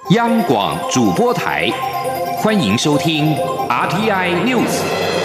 央广主播台，欢迎收听 RTI News。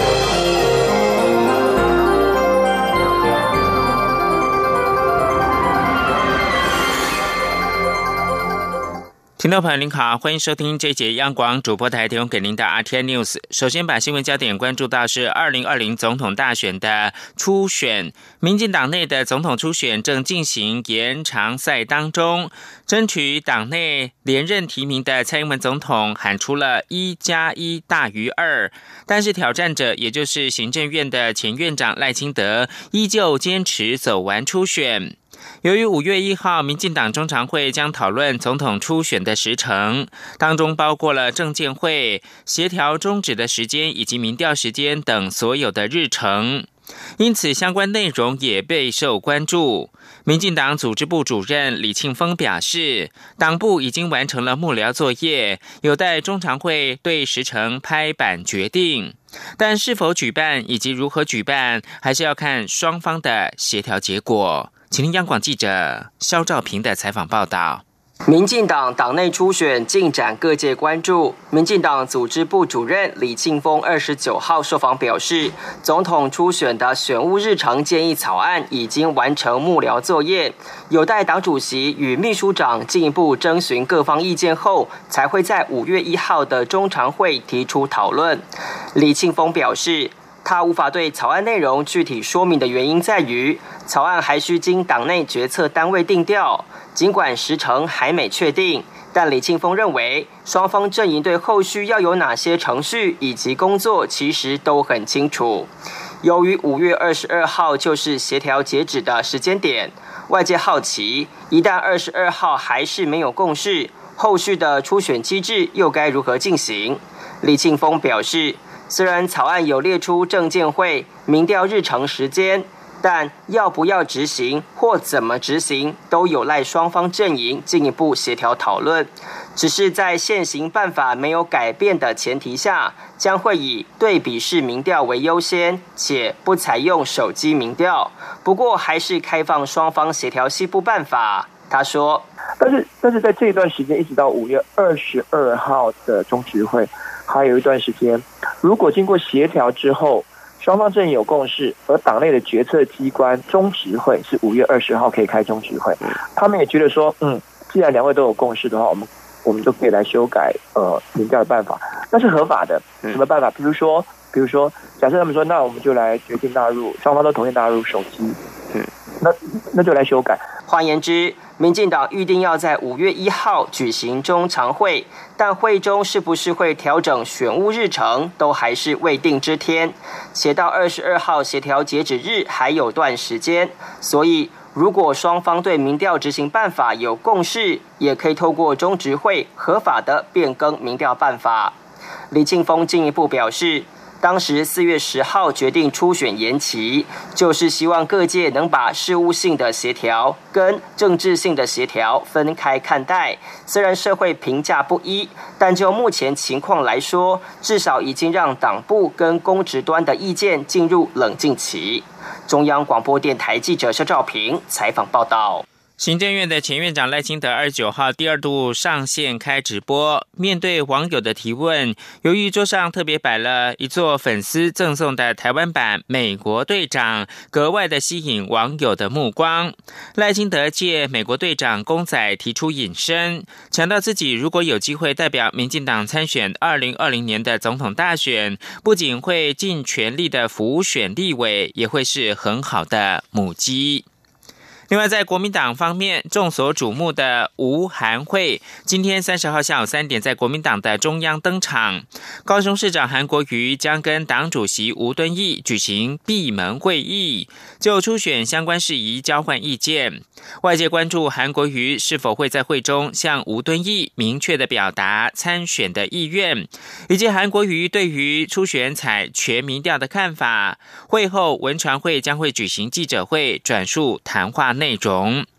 听众朋友您好，欢迎收听这节央广主播台提供给您的 RTI News。首先把新闻焦点关注到是2020总统大选的初选，民进党内的总统初选正进行延长赛当中，争取党内连任提名的蔡英文总统喊出了1+1大于2，但是挑战者也就是行政院的前院长赖清德依旧坚持走完初选。由于5月1号民进党中常会将讨论总统初选的时程，当中包括了政见会、协调终止的时间以及民调时间等所有的日程，因此相关内容也备受关注。民进党组织部主任李庆丰表示，党部已经完成了幕僚作业，有待中常会对时程拍板决定，但是否举办以及如何举办，还是要看双方的协调结果。请听央广记者肖兆平的采访报道。 民进党党内初选进展各界关注。民进党组织部主任李庆丰29号受访表示，总统初选的选务日程建议草案已经完成幕僚作业，有待党主席与秘书长进一步征询各方意见后，才会在5月1号的中常会提出讨论。李庆丰表示，他无法对草案内容具体说明的原因在于，草案还需经党内决策单位定调，尽管时程还没确定，但李庆丰认为，双方阵营对后续要有哪些程序以及工作其实都很清楚。由于5月22号就是协调截止的时间点，外界好奇，一旦22号还是没有共识，后续的初选机制又该如何进行？李庆丰表示，虽然草案有列出政见会、民调日程时间，但要不要执行或怎么执行，都有赖双方阵营进一步协调讨论。只是在现行办法没有改变的前提下，将会以对比式民调为优先，且不采用手机民调。不过还是开放双方协调西部办法。他说，但是在这一段时间，一直到5月22号的中执会，还有一段时间，如果经过协调之后，双方阵营有共识，而党内的决策机关中执会是5月20号可以开中执会，他们也觉得说，既然两位都有共识的话，我们就可以来修改民调的办法，那是合法的。什么办法？比如说，假设他们说，那我们就来决定纳入，双方都同意纳入手机，那就来修改。换言之，民进党预定要在5月1号举行中常会，但会中是不是会调整选务日程，都还是未定之天。且到22号协调截止日还有段时间，所以如果双方对民调执行办法有共识，也可以透过中执会合法的变更民调办法。李庆丰进一步表示，当时4月10号决定初选延期，就是希望各界能把事务性的协调跟政治性的协调分开看待。虽然社会评价不一，但就目前情况来说，至少已经让党部跟公职端的意见进入冷静期。中央广播电台记者肖兆平采访报道。 行政院的前院长赖清德29号第2度上线开直播，面对网友的提问，由于桌上特别摆了一座粉丝赠送的台湾版美国队长，格外的吸引网友的目光。赖清德借美国队长公仔提出引申，强调自己如果有机会代表民进党参选2020年的总统大选，不仅会尽全力的辅选立委，也会是很好的母鸡。另外，在国民党方面，众所瞩目的吴韩会今天30号下午3点在国民党的中央登场。高雄市长韩国瑜将跟党主席吴敦义举行闭门会议，就初选相关事宜交换意见。外界关注韩国瑜是否会在会中向吴敦义明确的表达参选的意愿，以及韩国瑜对于初选采全民调的看法。会后文传会将会举行记者会，转述谈话内容。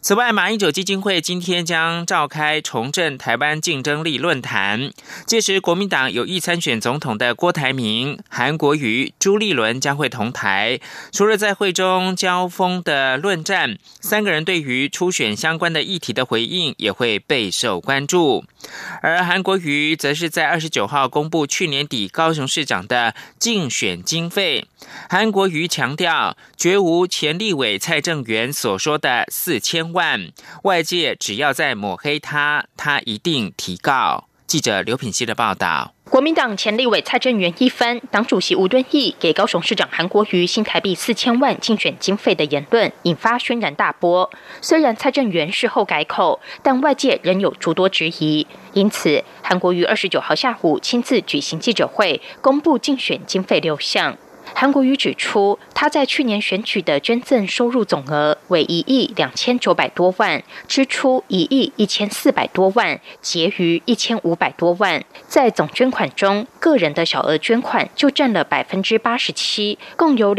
此外，马英九基金会今天将召开重振台湾竞争力论坛，届时国民党有意参选总统的郭台铭、韩国瑜、朱立伦将会同台。除了在会中交锋的论战，三个人对于初选相关的议题的回应也会备受关注。而韩国瑜则是在29号公布去年底高雄市长的竞选经费。韩国瑜强调，绝无前立委蔡正元所说的4000万，外界只要再抹黑他，他一定提告。记者刘品希的报道。 国民党前立委蔡正元一番党主席吴敦义给高雄市长韩国瑜新台币4000万竞选经费的言论，引发轩然大波。虽然蔡正元事后改口，但外界仍有诸多质疑。因此，韩国瑜29号下午亲自举行记者会，公布竞选经费6项。韩国瑜指出，他在去年选举的捐赠收入总额为1亿2900多万，支出1亿1400多万，结余1500多万。在总捐款中，个人的小额捐款就占了87%，共有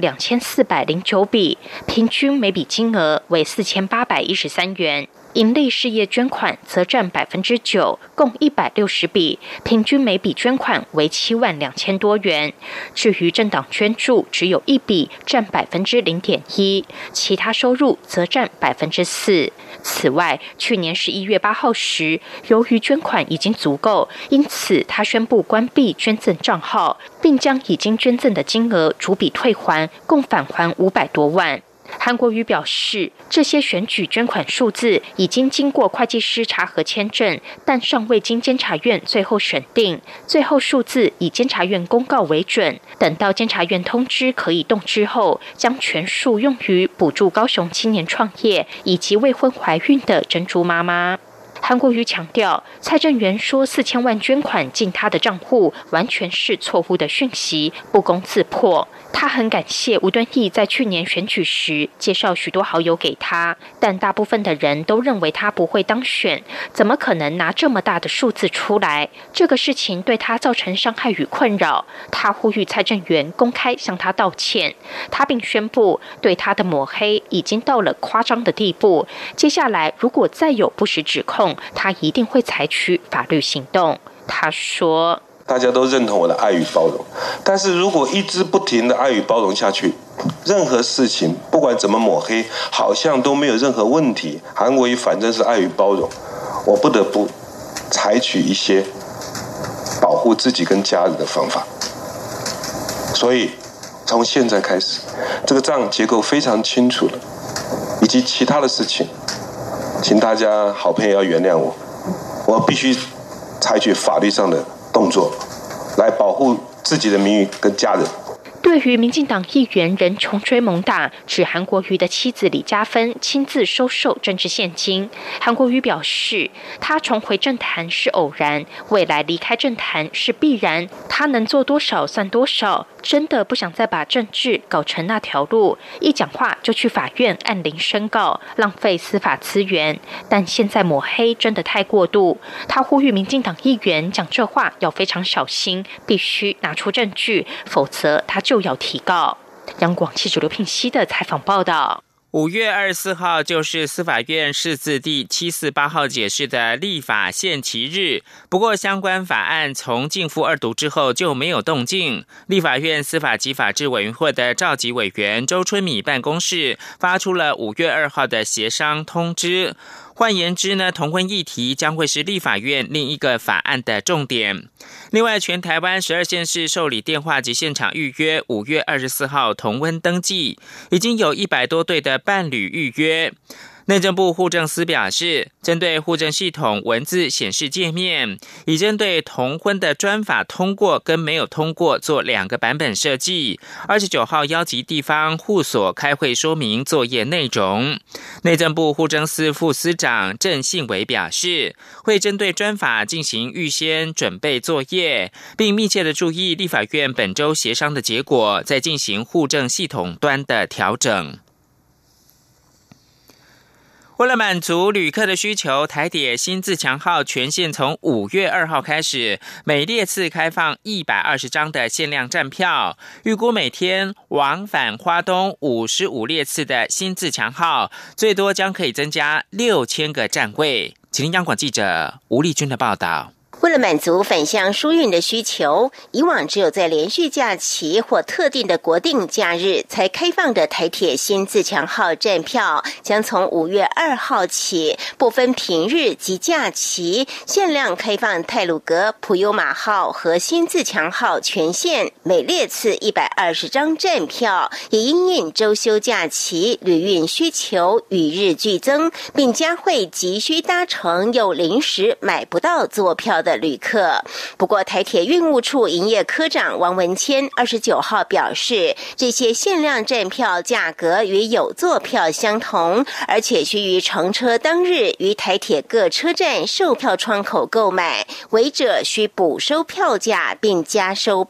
22409笔，平均每笔金额为4813元。营利事业捐款则占9%，共160笔，平均每笔捐款为72000多元。至于政党捐助，只有1笔，占0.1%，其他收入则占4%。此外，去年11月8号时，由于捐款已经足够，因此他宣布关闭捐赠账号，并将已经捐赠的金额逐笔退还，共返还500多万。韩国瑜表示，这些选举捐款数字已经经过会计师查核签证，但尚未经监察院最后审定，最后数字以监察院公告为准。等到监察院通知可以动之后，将全数用于补助高雄青年创业以及未婚怀孕的珍珠妈妈。韩国瑜强调，蔡正元说4000万捐款进他的账户，完全是错误的讯息，不攻自破。他很感谢吴敦义在去年选举时介绍许多好友给他，但大部分的人都认为他不会当选，怎么可能拿这么大的数字出来？这个事情对他造成伤害与困扰。他呼吁蔡正元公开向他道歉。他并宣布，对他的抹黑已经到了夸张的地步。接下来如果再有不实指控，他一定会采取法律行动。他说， 大家都认同我的爱与包容，但是如果一直不停的爱与包容下去，任何事情不管怎么抹黑，好像都没有任何问题。韩国瑜反正是爱与包容，我不得不采取一些保护自己跟家人的方法。所以从现在开始，这个账结构非常清楚了，以及其他的事情，请大家好朋友要原谅我，我必须采取法律上的动作来保护自己的名誉跟家人。 对于民进党议员仍穷追猛打，指韩国瑜的妻子李嘉芬亲自收受政治现金，韩国瑜表示，他重回政坛是偶然，未来离开政坛是必然，他能做多少算多少，真的不想再把政治搞成那条路，一讲话就去法院按铃申告，浪费司法资源。但现在抹黑真的太过度，他呼吁民进党议员讲这话要非常小心，必须拿出证据，否则他就要提告。央广记者刘聘熙的采访报道。 5月24号就是司法院释字第748号解释的立法限期日，不过相关法案从逕付2读之后就没有动静。立法院司法及法制委员会的召集委员周春米办公室发出了5月2号的协商通知。换言之呢，同婚议题将会是立法院另一个法案的重点。另外，全台湾12县市受理电话及现场预约5月24号同婚登记，已经有100多对的伴侣预约。内政部户政司表示，针对户政系统文字显示界面，已针对同婚的专法通过跟没有通过做2个版本设计。29号邀集地方户所开会说明作业内容。内政部户政司副司长郑信伟表示，会针对专法进行预先准备作业，并密切的注意立法院本周协商的结果，再进行户政系统端的调整。 为了满足旅客的需求，台铁新自强号全线从5月2号开始，每列次开放120张的限量站票，预估每天往返花东55列次的新自强号，最多将可以增加6000个站位。请听央广记者吴丽君的报道。 为了满足返乡疏运的需求，以往只有在连续假期或特定的国定假日才开放的台铁新自强号站票，将从5月2号起，不分平日及假期，限量开放太鲁阁、普悠玛号和新自强号全线，每列次120张站票，也因应周休假期旅运需求与日俱增，并加惠急需搭乘又临时买不到坐票的旅客。不过台铁运务处营业科长王文谦29号表示，这些限量站票价格与有座票相同，而且需于乘车当日于台铁各车站售票窗口购买，违者需补收票价并加收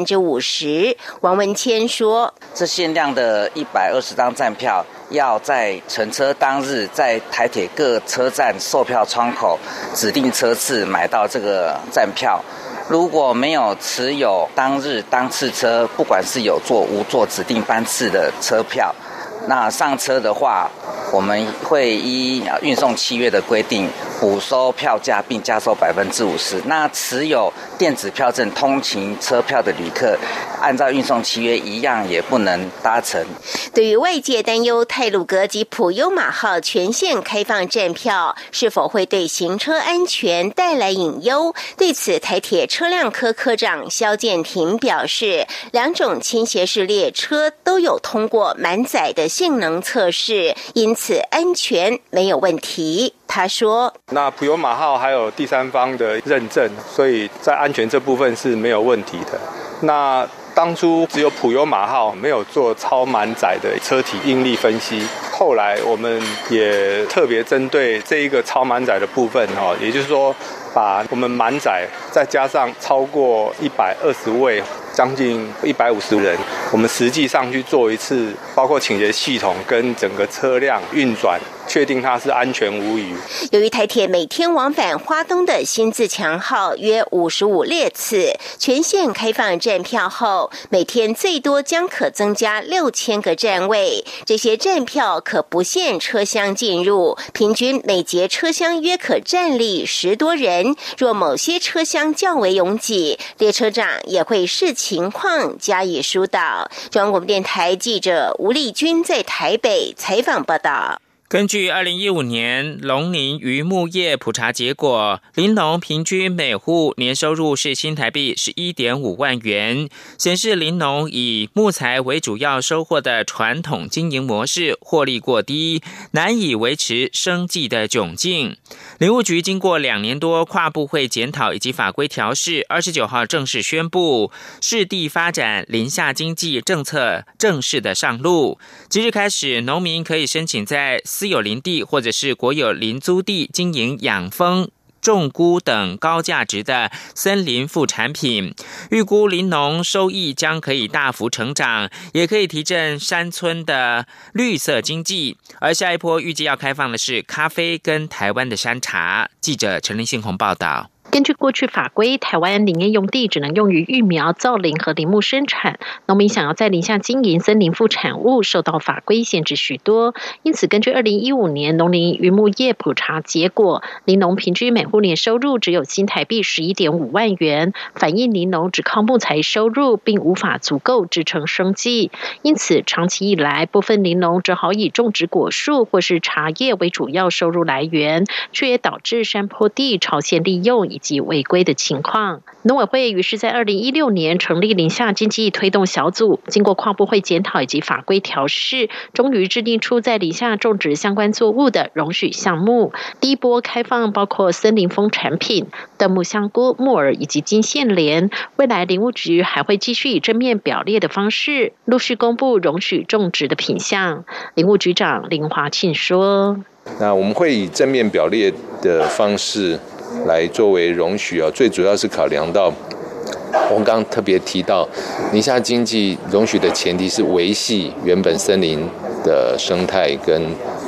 50%。王文谦说， 这限量的120张站票要在乘车当日在台铁各车站售票窗口指定车次买到这个站票，如果没有持有当日当次车，不管是有座无座指定班次的车票，那上车的话，我们会依运送契约的规定补收票价并加收50%。那持有电子票证通勤车票的旅客，按照运送契约一样也不能搭乘。 对于外界担忧太鲁阁及普悠玛号全线开放站票是否会对行车安全带来隐忧，对此台铁车辆科科长萧建庭表示，2种倾斜式列车都有通过满载的性能测试，因此安全没有问题。他说， 那普悠玛号还有第三方的认证，所以在安全这部分是没有问题的。那当初只有普悠玛号没有做超满载的车体应力分析，后来我们也特别针对这一个超满载的部分，也就是说把我们满载再加上超过120位，将近150人，我们实际上去做一次包括倾斜系统跟整个车辆运转，确定它是安全无虞。 由于台铁每天往返花东的新自强号约55列次，全线开放站票后，每天最多将可增加6000个站位，这些站票可不限车厢进入，平均每节车厢约可站立10多人，若某些车厢较为拥挤，列车长也会视情况加以疏导。中央广播电台记者吴丽君在台北采访报道。 根据2015年农林渔牧业普查结果，林农平均每户年收入是新台币11.5万元，显示林农以木材为主要收获的传统经营模式获利过低，难以维持生计的窘境。林务局经过2年多跨部会检讨以及法规调试，29号正式宣布市地发展林下经济政策正式的上路。即日开始，农民可以申请在私有林地或者是国有林租地经营养蜂、种菇等高价值的森林副产品，预估林农收益将可以大幅成长，也可以提振山村的绿色经济。而下一波预计要开放的是咖啡跟台湾的山茶。记者陈林信宏报道。 根据过去法规，台湾林业用地只能用于育苗、造林和林木生产，农民想要在林下经营森林副产物，受到法规限制许多。因此，根据2015年农林渔牧业普查结果，林农平均每户年收入只有新台币11.5万元，反映林农只靠木材收入，并无法足够支撑生计。因此，长期以来，部分林农只好以种植果树或是茶叶为主要收入来源，却也导致山坡地超限利用以及违规的情况。农委会于是在2016年成立林下经济推动小组，经过跨部会检讨以及法规调试，终于制定出在林下种植相关作物的容许项目。第一波开放包括森林枫产品、椴木香菇、木耳以及金线莲。未来林务局还会继续以正面表列的方式，陆续公布容许种植的品项。林务局长林华庆说： 那我们会以正面表列的方式来作为容许，最主要是考量到我们刚刚特别提到林下经济容许的前提是维系原本森林的生态跟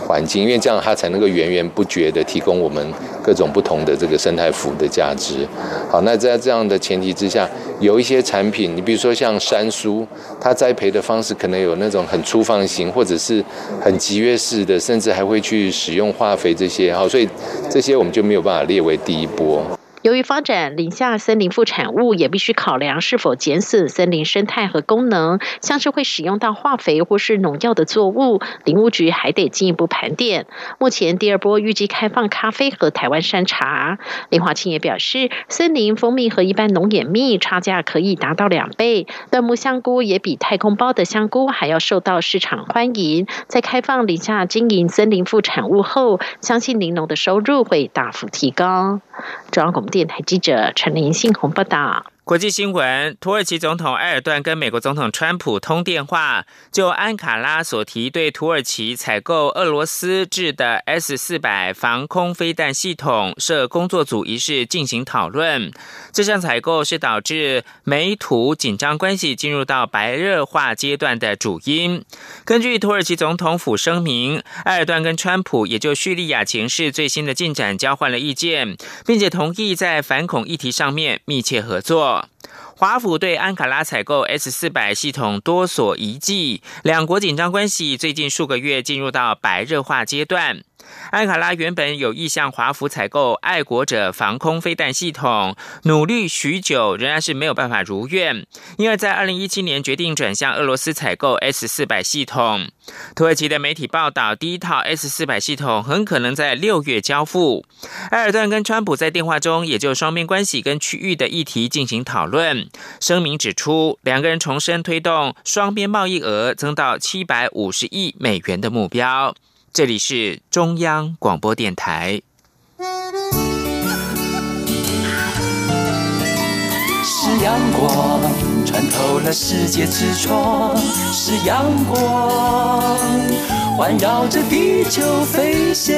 环境，因为这样它才能够源源不绝的提供我们各种不同的这个生态服务的价值。好，那在这样的前提之下，有一些产品，你比如说像山苏，它栽培的方式可能有那种很粗放型，或者是很集约式的，甚至还会去使用化肥这些。好，所以这些我们就没有办法列为第一波。 由于发展林下森林副产物，也必须考量是否减损森林生态和功能，像是会使用到化肥或是农药的作物，林务局还得进一步盘点。目前第二波预计开放咖啡和台湾山茶。林华庆也表示，森林蜂蜜和一般农眼蜜差价可以达到2倍，椴木香菇也比太空包的香菇还要受到市场欢迎。在开放林下经营森林副产物后，相信林农的收入会大幅提高。中央广播电台记者陈林信宏报道。 国际新闻：土耳其总统埃尔段跟美国总统川普通电话，就安卡拉所提对土耳其采购俄罗斯制的 S-400 防空飞弹系统设工作组一事进行讨论。这项采购是导致美土紧张关系进入到白热化阶段的主因。根据土耳其总统府声明，埃尔段跟川普也就叙利亚情势最新的进展交换了意见，并且同意在反恐议题上面密切合作。华府对安卡拉采购 S-400 系统多所疑忌，两国紧张关系最近数个月进入到白热化阶段。安卡拉原本有意向华府采购爱国者防空飞弹系统，努力许久仍然是没有办法如愿，因而在2017年决定转向俄罗斯采购 S-400 系统。土耳其的媒体报道，第一套 S-400 系统很可能在6月交付。埃尔段跟川普在电话中也就双边关系跟区域的议题进行讨论。声明指出，两个人重申推动双边贸易额增到750亿美元的目标。这里是中央广播电台。 是阳光穿透了世界之窗，是阳光环绕着地球飞翔。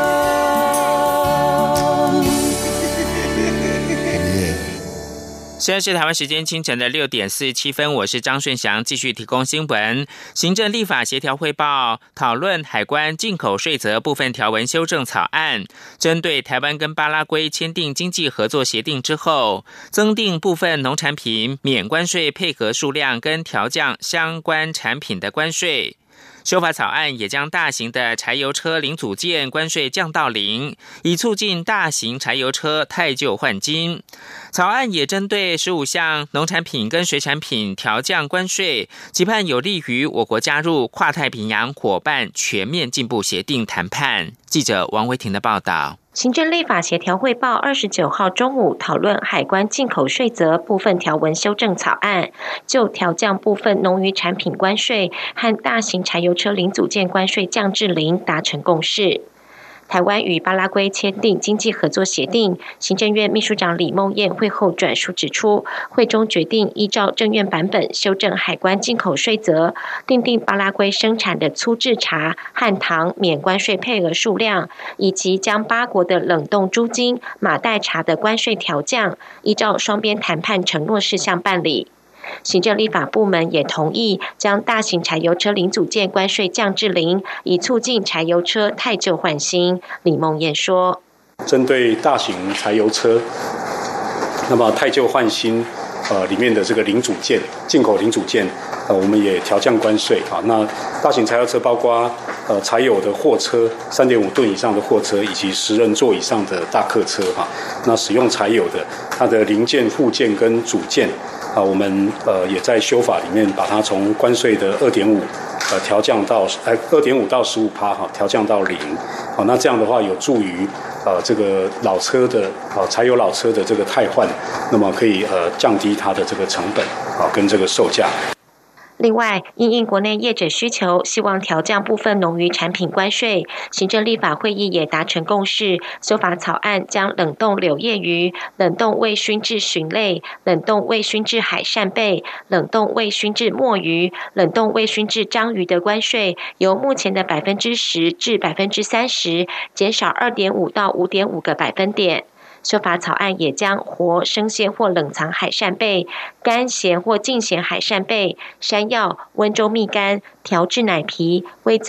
现在是台湾时间清晨的6点47分，我是张顺祥，继续提供新闻。行政立法协调汇报讨论海关进口税则部分条文修正草案，针对台湾跟巴拉圭签订经济合作协定之后，增订部分农产品免关税配合数量跟调降相关产品的关税。修法草案也将大型的柴油车零组件关税降到0，以促进大型柴油车汰旧换新。草案也针对15项农产品跟水产品调降关税，期盼有利于我国加入跨太平洋伙伴全面进步协定谈判。记者王维婷的报道。 行政立法协调汇报29号中午讨论海关进口税则部分条文修正草案，就调降部分农渔产品关税和大型柴油车零组件关税降至0达成共识。台湾与巴拉圭签订经济合作协定，行政院秘书长李孟燕会后转述指出，会中决定依照政院版本修正海关进口税则，订定巴拉圭生产的粗制茶和糖免关税配额数量，以及将8国的冷冻猪精、马黛茶的关税调降，依照双边谈判承诺事项办理。行政立法部门也同意将大型柴油车零组件关税降至0，以促进柴油车汰旧换新。李孟燕说， 针对大型柴油车，那么汰旧换新里面的这个零组件，进口零组件我们也调降关税。那大型柴油车包括柴油的货车3.5吨以上的货车，以及10人座以上的大客车那使用柴油的，它的零件、附件跟组件我们也在修法里面把它从关税的2.5调降到2.5到15%调降到0。那这样的话有助于这个老车的柴油老车的这个汰换，那么可以降低它的这个成本跟这个售价。 另外，因应国内业者需求，希望调降部分农渔产品关税，行政立法会议也达成共识，修法草案将冷冻柳叶鱼、冷冻未熏制鲟类、冷冻未熏制海扇贝、冷冻未熏制墨鱼、冷冻未熏制章鱼的关税，由目前的10%至30%，减少2.5到5.5个百分点。修法草案也将活、生鲜或冷藏海扇贝、干咸或净咸海扇贝、山药、温州蜜柑、调制奶皮、味噌、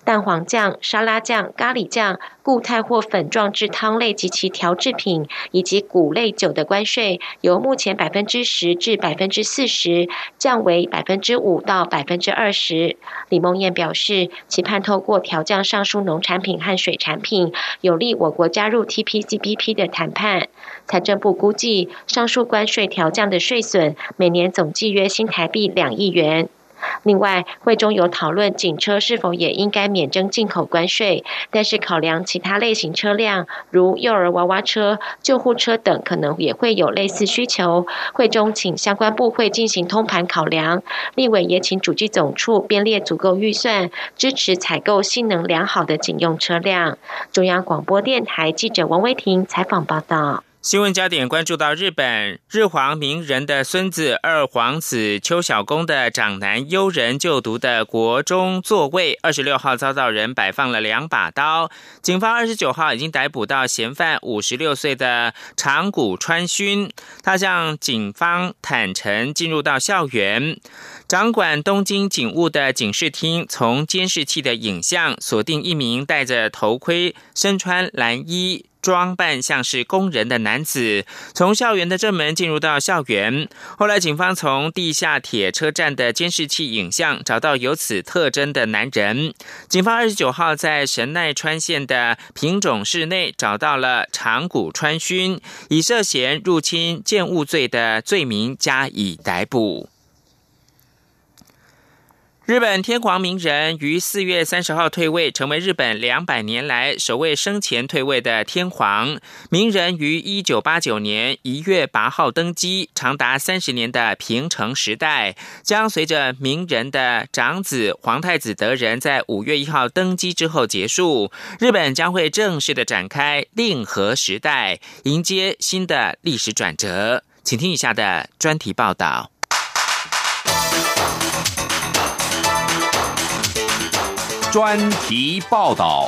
蛋黄酱、沙拉酱、咖喱酱、固态或粉状制汤类及其调制品以及谷类酒的关税，由目前10%至40%降为5%到20%。李孟燕表示，期盼透过调降上述农产品和水产品，有利我国加入 TPCPP 的谈判。财政部估计，上述关税调降的税损每年总计约新台币2亿元。另外，会中有讨论警车是否也应该免征进口关税，但是考量其他类型车辆，如幼儿娃娃车、救护车等，可能也会有类似需求。会中请相关部会进行通盘考量，立委也请主计总处编列足够预算，支持采购性能良好的警用车辆。中央广播电台记者王威婷采访报道。 新闻焦点关注到日本日皇明仁的孙子二皇子邱小公的长男悠仁就读的国中座位26号遭到人摆放了2把刀，警方29号已经逮捕到嫌犯56岁的长谷川勋，他向警方坦诚进入到校园。掌管东京警务的警视厅从监视器的影像锁定一名戴着头盔、身穿蓝衣、装扮像是工人的男子从校园的正门进入到校园。后来警方从地下铁车站的监视器影像找到有此特征的男人。警方29号在神奈川县的品种市内找到了长谷川勋，以涉嫌入侵建物罪的罪名加以逮捕。日本天皇明仁于4月30号退位，成为日本200年来首位生前退位的天皇。明仁于1989年1月8号登基，长达30年的平成时代将随着明仁的长子皇太子德仁在5月1号登基之后结束。日本将会正式的展开令和时代，迎接新的历史转折。请听以下的专题报道。 专题报道。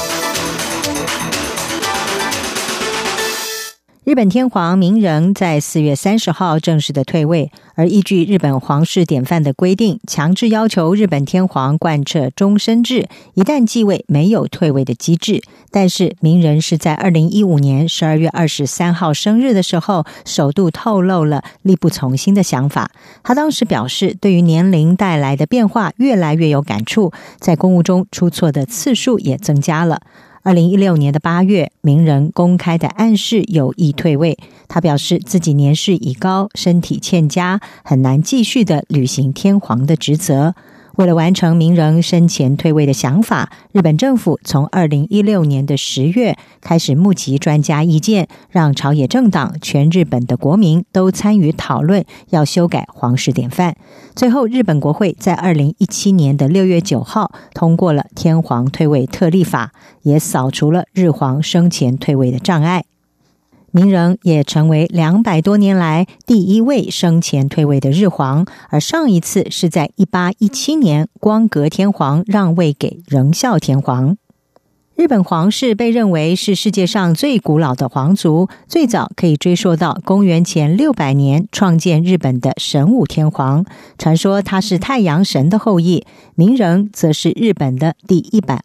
日本天皇明仁在4月30号正式的退位，而依据日本皇室典范的规定，强制要求日本天皇贯彻终身制，一旦继位没有退位的机制。但是明仁是在2015年12月23号生日的时候，首度透露了力不从心的想法。他当时表示，对于年龄带来的变化越来越有感触，在公务中出错的次数也增加了。2016年的8月，明仁公开的暗示有意退位。他表示自己年事已高，身体欠佳，很难继续的履行天皇的职责。为了完成明仁生前退位的想法，日本政府从2016年的10月开始募集专家意见，让朝野政党、全日本的国民都参与讨论，要修改皇室典范。最后，日本国会在2017年的6月9号通过了天皇退位特例法，也扫除了日皇生前退位的障碍。明仁也成为200多年来第一位生前退位的日皇，而上一次是在1817年光格天皇让位给仁孝天皇。日本皇室被认为是世界上最古老的皇族，最早可以追溯到公元前600年创建日本的神武天皇，传说他是太阳神的后裔。明仁则是日本的第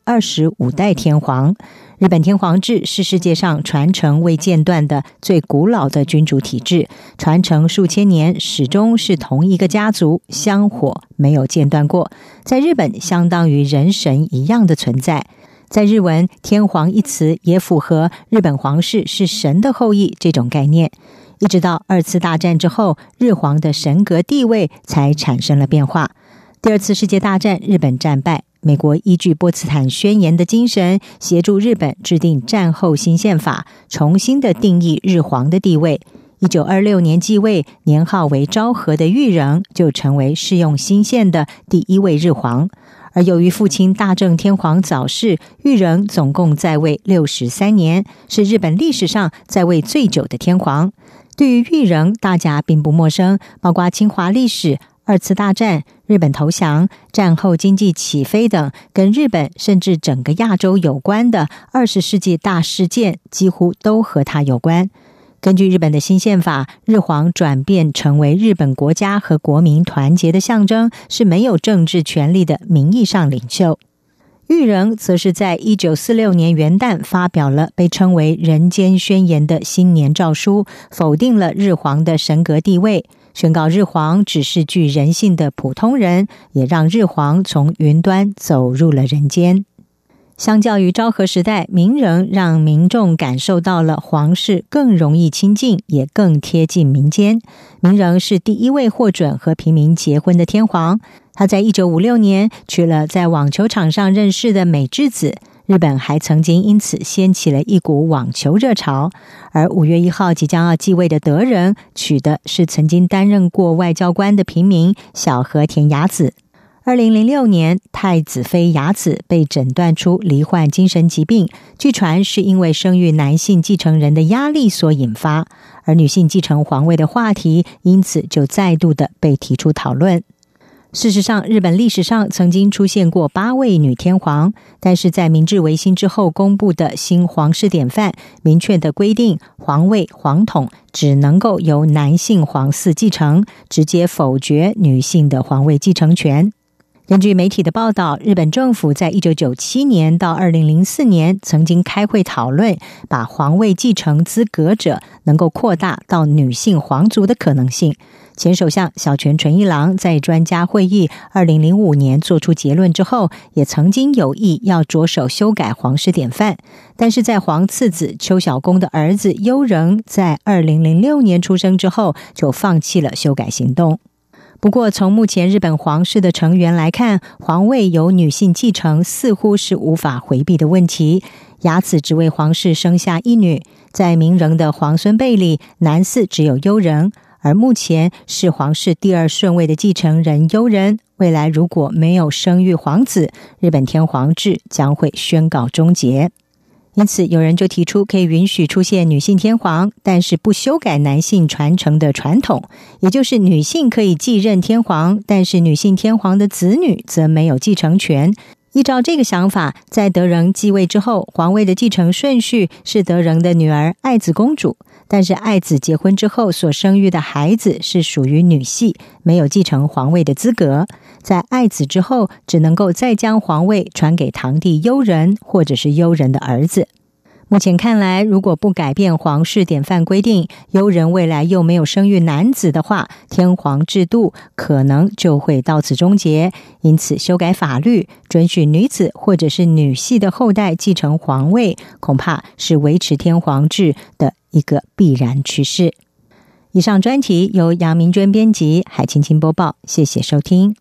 125代天皇。日本天皇制是世界上传承未间断的最古老的君主体制，传承数千年，始终是同一个家族，香火没有间断过，在日本相当于人神一样的存在。在日文，天皇一词也符合日本皇室是神的后裔这种概念。一直到2次大战之后，日皇的神格地位才产生了变化。第2次世界大战，日本战败，美国依据波茨坦宣言的精神，协助日本制定战后新宪法，重新的定义日皇的地位。1926年继位，年号为昭和的裕仁就成为适用新宪的第1位日皇。而由于父亲大正天皇早逝，裕仁总共在位63年，是日本历史上在位最久的天皇。对于裕仁，大家并不陌生，包括侵华历史、2次大战、日本投降、战后经济起飞等跟日本甚至整个亚洲有关的20世纪大事件，几乎都和他有关。根据日本的新宪法，日皇转变成为日本国家和国民团结的象征，是没有政治权力的名义上领袖。 裕仁则是在1946年元旦发表了被称为人间宣言的新年诏书，否定了日皇的神格地位，宣告日皇只是具人性的普通人，也让日皇从云端走入了人间。相较于昭和时代，明仁让民众感受到了皇室更容易亲近，也更贴近民间。明仁是第一位获准和平民结婚的天皇，他在1956年娶了在网球场上认识的美智子，日本还曾经因此掀起了一股网球热潮。而5月1号即将要继位的德仁，娶的是曾经担任过外交官的平民小和田雅子。2006年，太子妃雅子被诊断出罹患精神疾病，据传是因为生育男性继承人的压力所引发，而女性继承皇位的话题因此就再度的被提出讨论。事实上，日本历史上曾经出现过8位女天皇，但是在明治维新之后公布的新皇室典范明确的规定，皇位皇统只能够由男性皇嗣继承，直接否决女性的皇位继承权。根据媒体的报道，日本政府在1997年到2004年曾经开会讨论，把皇位继承资格者能够扩大到女性皇族的可能性。前首相小泉纯一郎在专家会议2005年做出结论之后，也曾经有意要着手修改皇室典范，但是在皇次子邱小公的儿子悠仁在2006年出生之后，就放弃了修改行动。不过，从目前日本皇室的成员来看，皇位由女性继承似乎是无法回避的问题。雅子只为皇室生下一女，在明仁的皇孙辈里，男嗣只有悠仁，而目前是皇室第2顺位的继承人悠仁。未来如果没有生育皇子，日本天皇制将会宣告终结。因此有人就提出可以允许出现女性天皇，但是不修改男性传承的传统，也就是女性可以继任天皇，但是女性天皇的子女则没有继承权。依照这个想法，在德仁继位之后，皇位的继承顺序是德仁的女儿爱子公主，但是爱子结婚之后所生育的孩子是属于女系，没有继承皇位的资格。在爱子之后，只能够再将皇位传给堂弟悠仁或者是悠仁的儿子。目前看来，如果不改变皇室典范规定，悠仁未来又没有生育男子的话，天皇制度可能就会到此终结。因此修改法律，准许女子或者是女系的后代继承皇位，恐怕是维持天皇制的一个必然趋势。以上专题由杨明娟编辑，海青青播报，谢谢收听。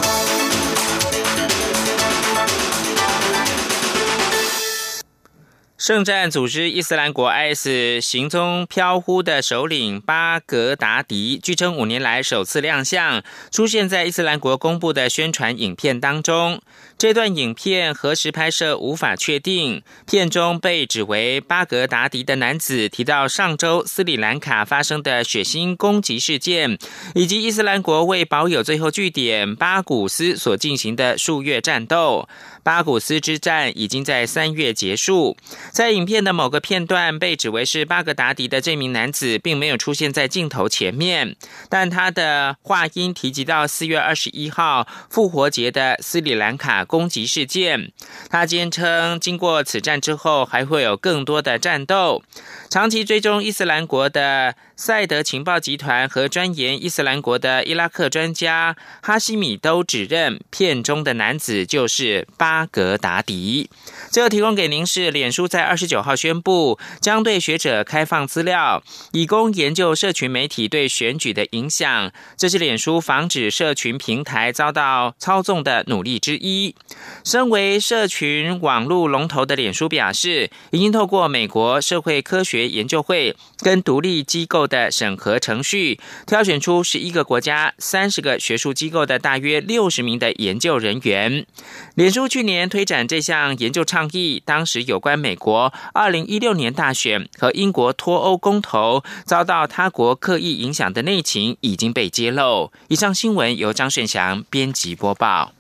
圣战组织伊斯兰国 IS 行踪飘忽的首领巴格达迪，据称5年来首次亮相，出现在伊斯兰国公布的宣传影片当中。这段影片何时拍摄无法确定，片中被指为巴格达迪的男子提到上周斯里兰卡发生的血腥攻击事件，以及伊斯兰国为保有最后据点巴古斯所进行的数月战斗。巴古斯之战已经在3月结束。在影片的某个片段被指为是巴格达迪的这名男子并没有出现在镜头前面，但他的话音提及到4月21号复活节的斯里兰卡攻击事件。他坚称经过此战之后还会有更多的战斗。长期追踪伊斯兰国的赛德情报集团和钻研伊斯兰国的伊拉克专家哈希米都指认片中的男子就是巴格达迪。最后提供给您是脸书在29号宣布将对学者开放资料，以供研究社群媒体对选举的影响，这是脸书防止社群平台遭到操纵的努力之一。身为社群网络龙头的脸书表示，已经透过美国社会科学研究会跟独立机构的审核程序，挑选出11个国家30个学术机构的大约60名的研究人员。脸书去年推展这项研究倡议，当时有关美国2016年大选和英国脱欧公投遭到他国刻意影响的内情已经被揭露。以上新闻由张顺祥编辑播报。